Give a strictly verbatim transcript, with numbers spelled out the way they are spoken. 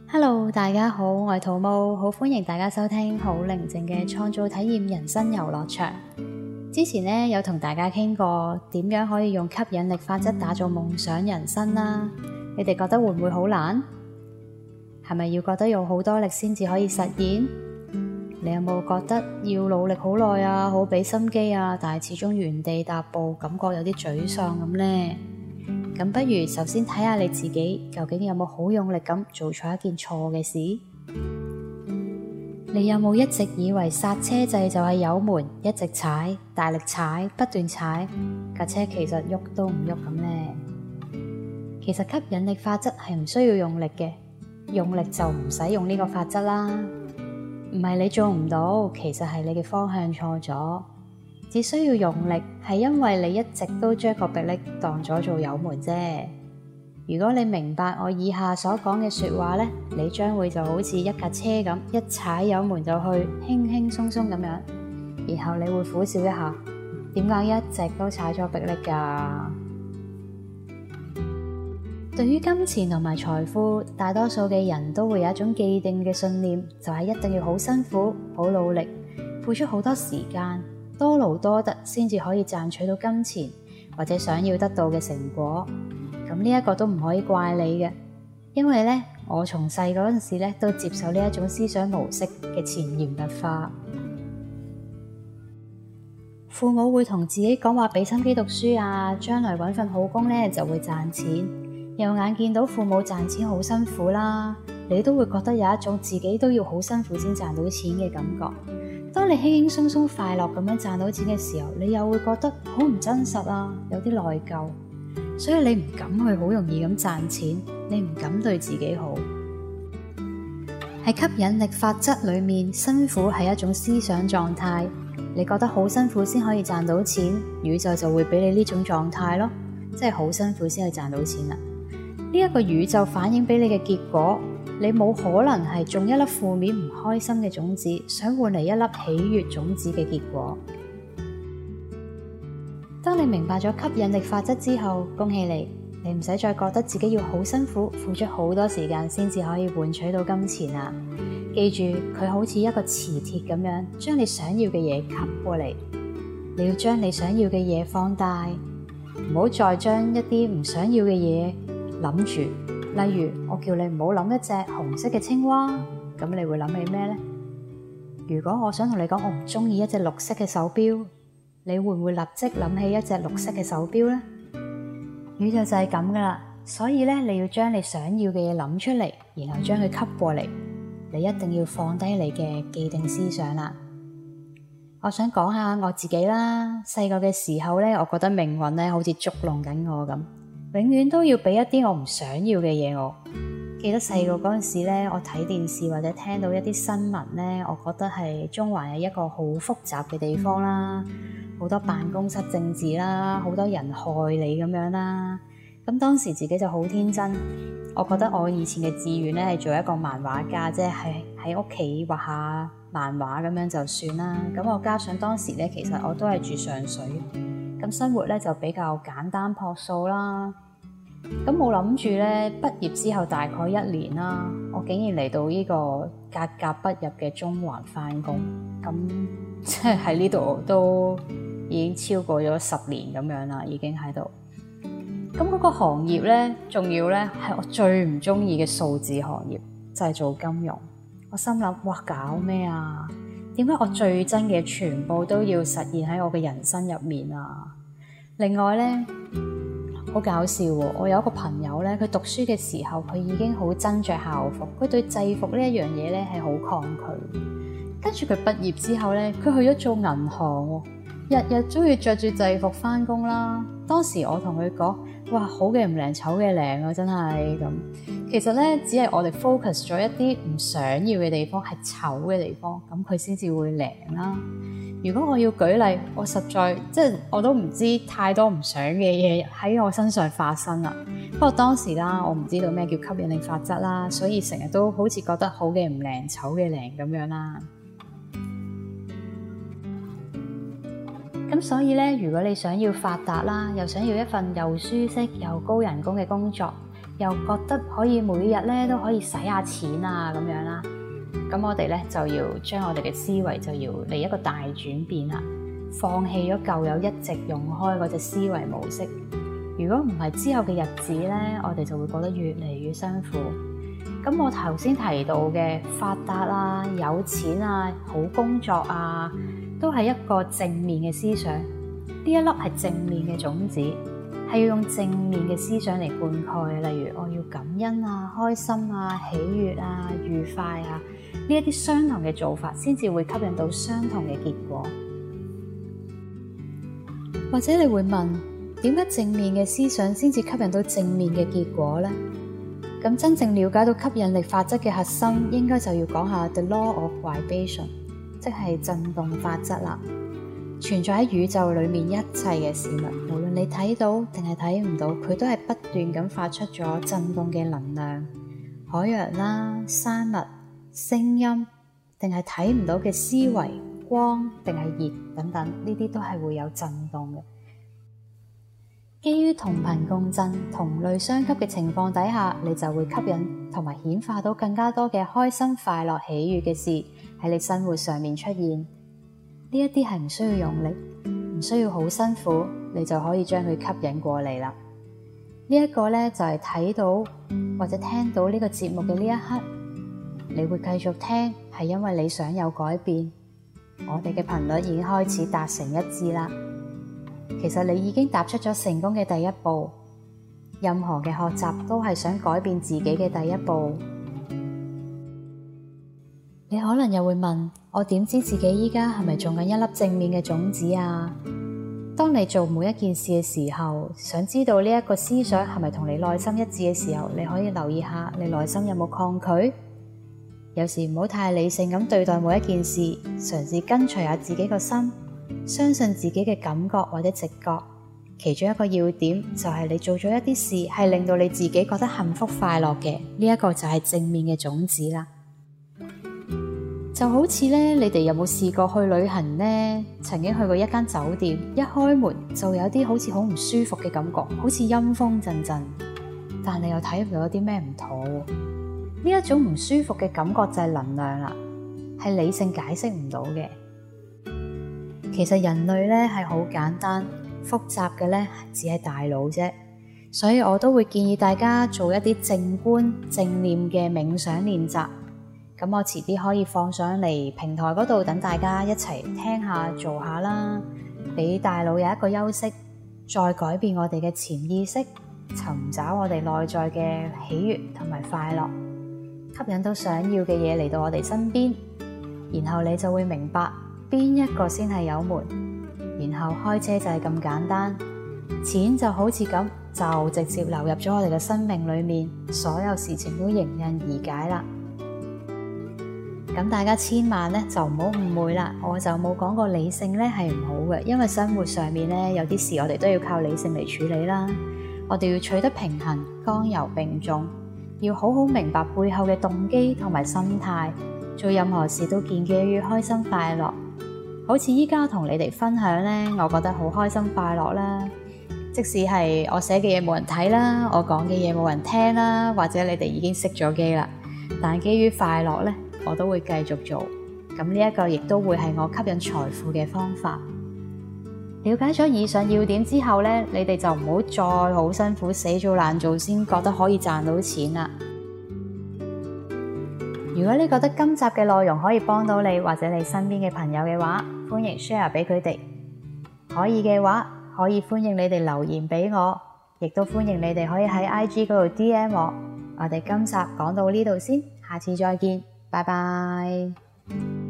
Hello，大家好，我係桃木，好歡迎大家收聽好寧靜嘅創造體驗人生遊樂場。之前呢，有同大家傾過點樣可以用吸引力法則打造夢想人生啦。你哋覺得會唔會好難？係咪要覺得用好多力先至可以實現？你有冇覺得要努力好耐啊，好俾心機啊，但係始終原地踏步，感覺有啲沮喪咁呢？咁不如首先睇下你自己究竟有冇好用力咁做錯一件錯嘅事？你有冇一直以為剎車掣就係油門，一直踩，大力踩，不斷踩，架車其實喐都唔喐咁呢？其實吸引力法則係唔需要用力嘅，用力就唔使用呢個法則啦。唔係你做唔到，其實係你嘅方向錯咗。只需要用力，係因為你一直都將個迫力當咗做油門啫。如果你明白我以下所講嘅說話呢，你將會就好似一架車咁，一踩油門就去，輕輕鬆鬆咁樣。然後你會苦笑一下，點解一直都踩咗迫力噶？對於金錢同埋財富，大多數嘅人都會有一種既定嘅信念，就係一定要好辛苦、好努力，付出好多時間，多勞多得先至可以賺取到金錢或者想要得到嘅成果。咁呢一個都唔可以怪你嘅，因為呢，我從細嗰陣時呢都接受呢一種思想模式嘅潛移默化。父母會同自己講話俾心機讀書啊，將來搵份好工呢就會賺錢。又眼見到父母賺錢好辛苦啦，你都會覺得有一種自己都要好辛苦先賺到錢嘅感覺。當你輕輕鬆鬆快樂咁樣賺到錢嘅時候，你又會覺得好唔真實啊，有啲內疚，所以你唔敢去好容易咁賺錢，你唔敢對自己好。喺吸引力法則裏面，辛苦係一種思想狀態，你覺得好辛苦先可以賺到錢，宇宙就會俾你呢種狀態咯，即係好辛苦先可以賺到錢啦。呢一個宇宙反映俾你嘅結果，你冇可能係種一粒負面唔開心嘅種子，想換嚟一粒喜悅種子嘅結果。當你明白咗吸引力法則之後，恭喜你，你唔使再覺得自己要好辛苦，付出好多時間先至可以換取到金錢啊！記住，佢好似一個磁鐵咁樣，將你想要嘅嘢吸過嚟。你要將你想要嘅嘢放大，唔好再將一啲唔想要嘅嘢諗住。例如我叫你唔好諗一隻紅色嘅青蛙，咁你會諗起咩呢？如果我想同你講我唔中意一隻綠色嘅手錶，你會唔會立即諗起一隻綠色嘅手錶呢？宇宙就係咁噶啦，所以咧你要將你想要嘅嘢諗出嚟，然後將佢吸過嚟。你一定要放低你嘅既定思想啦。我想講下我自己啦，細個嘅時候咧，我覺得命運咧好似捉弄緊我咁。永遠都要俾一啲我唔想要嘅嘢我。記得細個嗰陣時咧，我睇電視或者聽到一啲新聞咧，我覺得係中環係一個好複雜嘅地方啦，好多辦公室政治啦，好多人害你咁樣啦。咁當時自己就好天真，我覺得我以前嘅志願咧係做一個漫畫家，即係喺屋企畫下漫畫咁樣就算啦。咁我加上當時咧，其實我都係住上水。咁生活咧就比較簡單樸素啦。咁冇諗住咧，畢業之後大概一年啦，我竟然嚟到呢個格格不入嘅中環返工。咁即係喺呢度都已經超過咗十年咁樣啦，已經喺度。咁嗰個行業咧，仲要咧係我最唔中意嘅數字行業，就係做金融。我心諗，哇，搞咩啊？點解我最憎嘅全部都要實現喺我嘅人生入面啊？另外咧，好搞笑喎！我有一個朋友咧，佢讀書嘅時候，佢已經好憎着校服，佢對制服呢一樣嘢咧係好抗拒。跟住佢畢業之後咧，佢去咗做銀行喎，日日都要着住制服返工啦。當時我同佢講，哇，好嘅唔靚，醜嘅靚啊，真係咁。其實咧，只係我哋 focus 咗一啲唔想要嘅地方，係醜嘅地方，咁佢先至會靚啦。如果我要舉例，我實在即係我都唔知太多唔想嘅嘢喺我身上發生啦。不過當時啦，我唔知道咩叫吸引力法則啦，所以成日都好似覺得好嘅唔靚，醜嘅靚咁樣啦。咁所以咧，如果你想要發達啦，又想要一份又舒適又高人工嘅工作， 又覺得可以每日咧都可以使下錢啊咁樣啦。咁我哋咧就要將我哋嘅思維就要嚟一個大轉變啦，放棄咗舊有一直用開嗰隻思維模式。如果唔係之後嘅日子咧，我哋就會覺得越嚟越辛苦。咁我頭先提到嘅發達啊、有錢啊、好工作啊，都係一個正面嘅思想。呢一粒係正面嘅種子，係要用正面嘅思想嚟灌溉。例如我要感恩啊、開心啊、喜悅啊、愉快啊，呢一啲相同嘅做法，先至會吸引到相同嘅結果。或者你會問，點解正面嘅思想先至吸引到正面嘅結果呢？咁真正了解到吸引力法則嘅核心，應該就要講下 The Law of Vibration， 即係震動法則啦。存在喺宇宙裏面一切嘅事物，無論你睇到定係睇唔到，佢都係不斷咁發出咗震動嘅能量。海洋啦、山脈、聲音，定係睇唔到嘅思維、光定係熱等等，呢啲都係會有震動嘅。基於同頻共振、同類相吸嘅情況底下，你就會吸引同埋顯化到更加多嘅開心、快樂、喜悅嘅事喺你生活上面出現。呢一啲係唔需要用力，唔需要好辛苦，你就可以將佢吸引過嚟啦。呢一個咧就係睇到或者聽到呢個節目嘅呢一刻，你會繼續聽，係因為你想有改變。我哋嘅頻率已經開始達成一致啦。其實你已經踏出咗成功嘅第一步，任何嘅學習都係想改變自己嘅第一步。你可能又會問，我點知自己依家係咪種緊一粒正面嘅種子啊？當你做每一件事嘅時候，想知道呢一個思想係咪同你內心一致嘅時候，你可以留意下你內心有冇抗拒。有時唔好太理性咁對待每一件事，嘗試跟隨下自己個心，相信自己嘅感覺或者直覺。其中一個要點就係你做咗一啲事係令到你自己覺得幸福快樂嘅，呢一個就係正面嘅種子啦。就好似咧，你哋有冇試過去旅行呢？曾經去過一間酒店，一開門就有啲好似好唔舒服嘅感覺，好似陰風陣陣，但你又睇唔到有啲咩唔妥。呢一種唔舒服嘅感覺就係能量啦，係理性解釋唔到嘅。其實人類咧係好簡單，複雜嘅咧只係大腦啫。所以我都會建議大家做一啲靜觀正念嘅冥想練習。咁我遲啲可以放上嚟平台嗰度，等大家一齊聽下做下啦，俾大腦有一個休息，再改變我哋嘅潛意識，尋找我哋內在嘅喜悅同埋快樂，吸引到想要嘅嘢嚟到我哋身邊。然後你就會明白邊一個先係有門，然後開車就係咁簡單，錢就好似咁就直接流入咗我哋嘅生命裏面，所有事情都迎刃而解啦。咁大家千萬咧就唔好誤會啦，我就冇講過理性咧係唔好嘅，因為生活上面咧有啲事我哋都要靠理性嚟處理啦。我哋要取得平衡，剛柔並重，要好好明白背後嘅動機同埋心態，做任何事都建基於開心快樂。好似依家同你哋分享咧，我覺得好開心快樂啦。即使係我寫嘅嘢冇人睇啦，我講嘅嘢冇人聽啦，或者你哋已經熄咗機啦，但基於快樂咧，我都會繼續做。咁呢一個亦都會係我吸引財富嘅方法。了解咗以上要點之後咧，你哋就唔好再好辛苦死做爛做先覺得可以賺到錢啦。如果你覺得今集嘅內容可以幫到你或者你身邊嘅朋友嘅話，歡迎 share 俾佢哋。可以嘅話，可以歡迎你哋留言俾我，亦都歡迎你哋可以喺 I G 嗰度 D M 我。我哋今集講到呢度先，下次再見，拜拜。